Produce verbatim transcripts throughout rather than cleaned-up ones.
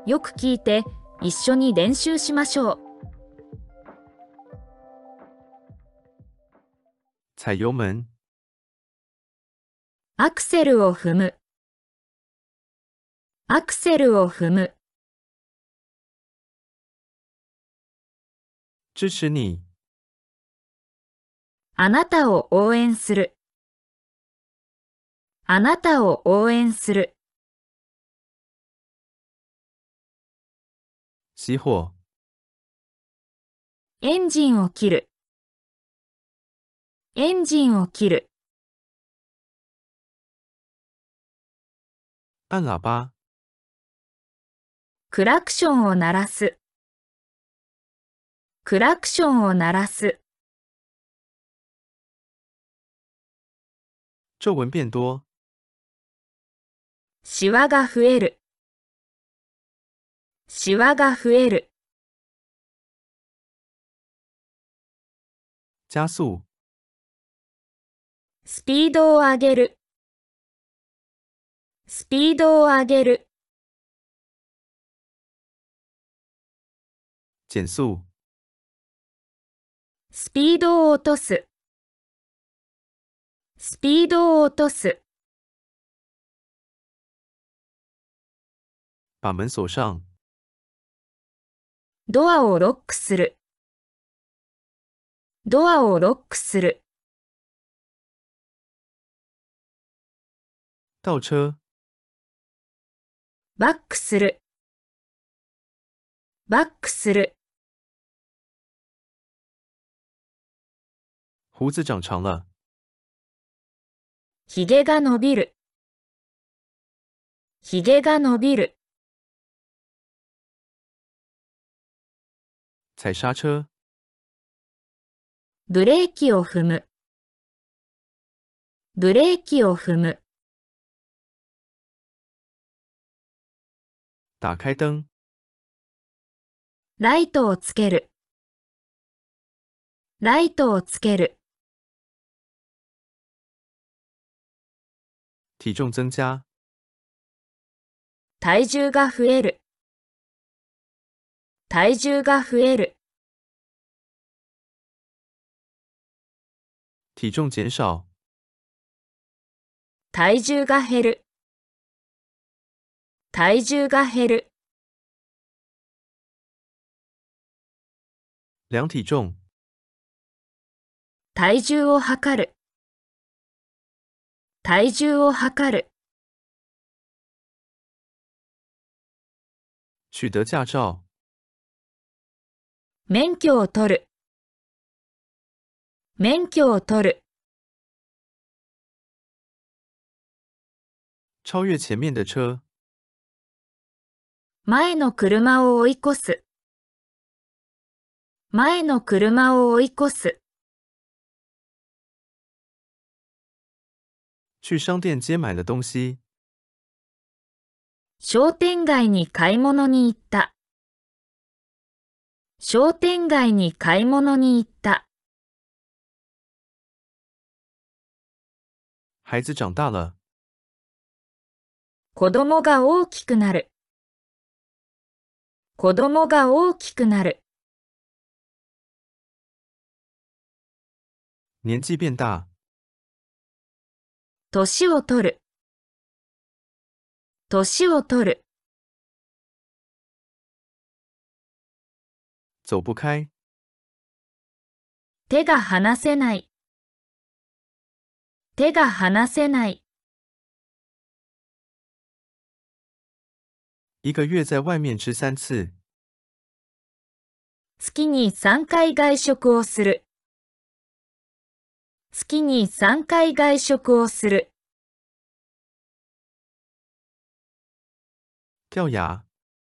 よく聞いて、一緒に練習しましょう。 踩油門。 アクセルを踏む。アクセルを踏む。 支持你。 あなたを応援する。あなたを応援する。 熄火。 エンジンを切る。エンジンを切る。 按喇叭。 クラクションを鳴らす。クラクションを鳴らす。 皱纹变多。 シワが増える。シワが増える。 加速。 スピードを上げる。スピードを上げる。 減速。 スピードを落とす。スピードを落とす。 把门锁上。 ドアをロックする。ドアをロックする。 倒車。 バックする。バックする。 胡子长长了。 ひげが伸びる。ひげが伸びる。 踩刹車。 ブレーキを踏む。ブレーキを踏む。 打開灯。 ライトをつける。ライトをつける。 体重增加。 体重が増える。体重が増える。 体重減少。 体重が減る。体重が減る。 量体重。 体重を測る。体重を測る。 取得駕照。 免許を取る。免許を取る。 超越前面的車。 前の車を追い越す。前の車を追い越す。 去商店街買了東西。 商店街に買い物に行った。商店街に買い物に行った。 孩子長大了。 子供が大きくなる。子供が大きくなる。 年紀變大。 年を取る。年を取る。 走不開。 手が離せない。手が離せない。 一個月在外面吃三次。 月にさんかい外食をする。月にさんかい外食をする。 掉牙。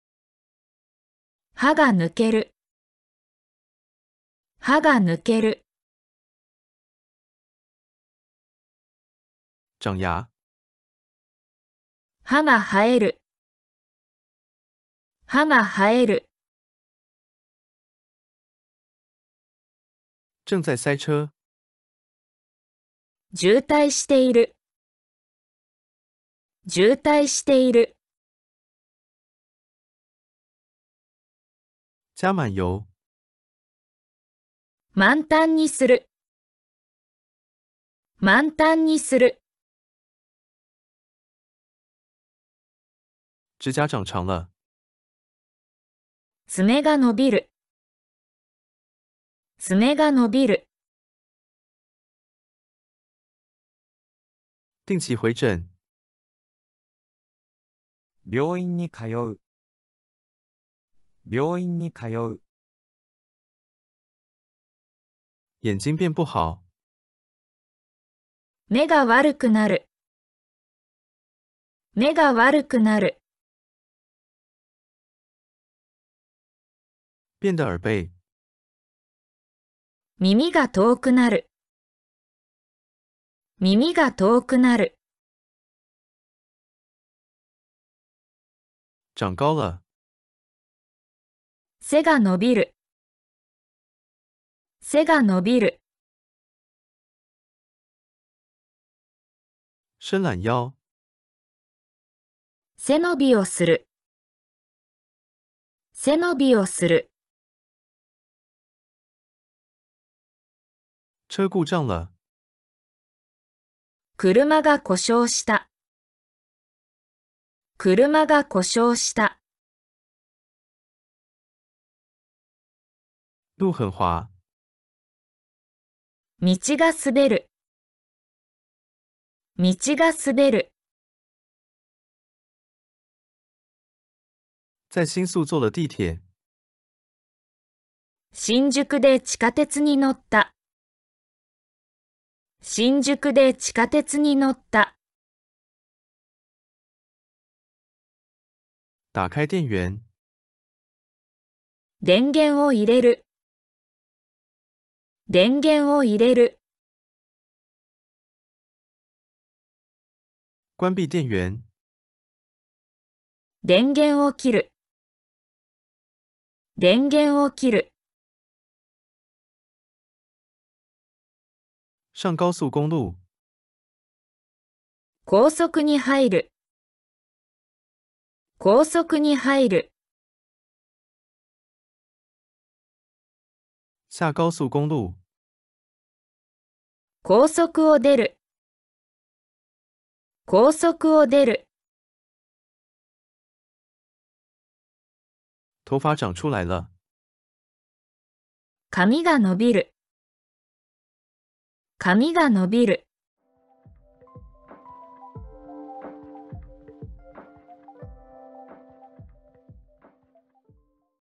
歯が抜ける。歯が抜ける。 長牙。 歯が生える。歯が生える。 正在塞車。 渋滞している。渋滞している。 加满油。 満タンにする。満タンにする。 指甲长长了。 爪が伸びる。爪が伸びる。 定期回诊。 病院に通う。病院に通う。 眼睛变不好。 目が悪くなる。目が悪くなる。 变得耳背。 耳が遠くなる。耳が遠くなる。 长高了。 背が伸びる。背が伸びる。 伸懒腰。 背伸びをする。背伸びをする。 车故障了。 車が故障した。車が故障した。 路很滑。 道が滑る。道が滑る。 在新宿坐了地铁。 新宿で地下鉄に乗った。新宿で地下鉄に乗った。 打开电源。 電源を入れる。電源を入れる。 关闭电源。 電源を切る。電源を切る。 上高速公路。 高速に入る。高速に入る。 下高速公路。 高速を出る。高速を出る。 头发长出来了。 髪が伸びる。髪が伸びる。